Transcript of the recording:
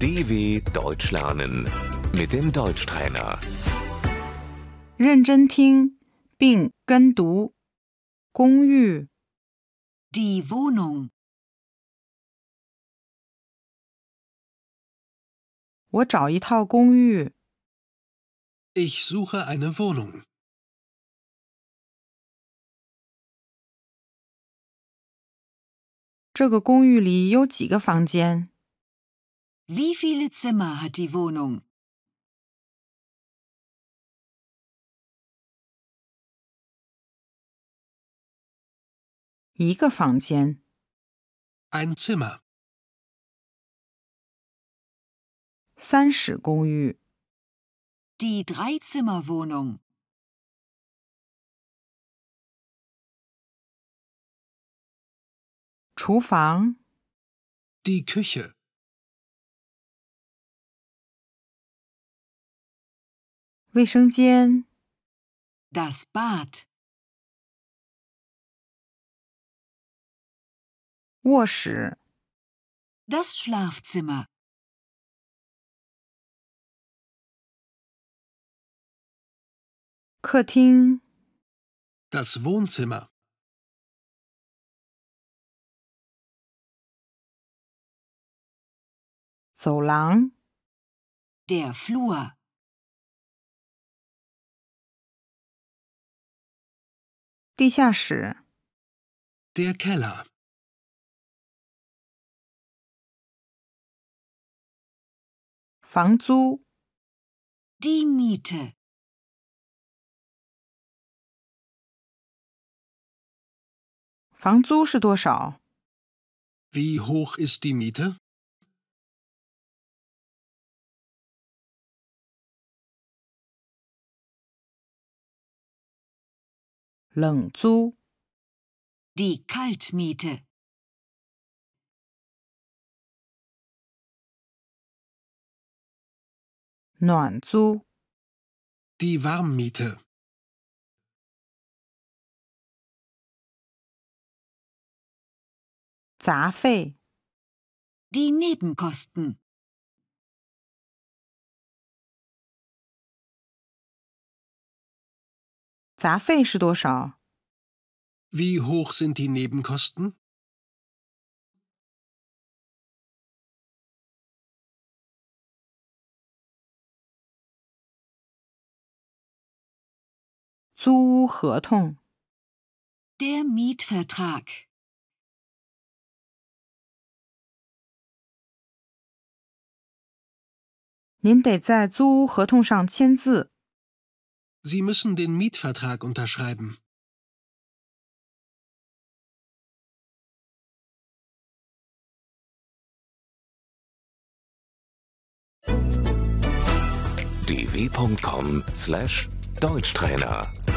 DW Deutsch lernen mit dem Deutschtrainer. 认真听并跟读。公寓， Die Wohnung. 我找一套公寓。 Ich suche eine Wohnung. 这个公寓里有几个房间？ Wie viele Zimmer hat die Wohnung? 一个房间。 Ein Zimmer. 三室公寓。 Die Dreizimmerwohnung. 厨房。 Die Küche. 卫生间。 Das Bad. 卧室。 Das Schlafzimmer. 客厅。 Das Wohnzimmer. 走廊。 Der Flur. 地下室。 Der Keller. 房租。 Die Miete. 房租是多少？ Wie hoch ist die Miete? 冷租。 Die Kaltmiete. 暖租。 Die Warmmiete. 杂费。 Die Nebenkosten. 杂费是多少？ Wie hoch sind die Nebenkosten? 租屋合同。 Der Mietvertrag. 您得在租屋合同上签字。 Sie müssen den Mietvertrag unterschreiben. dw.com/Deutschtrainer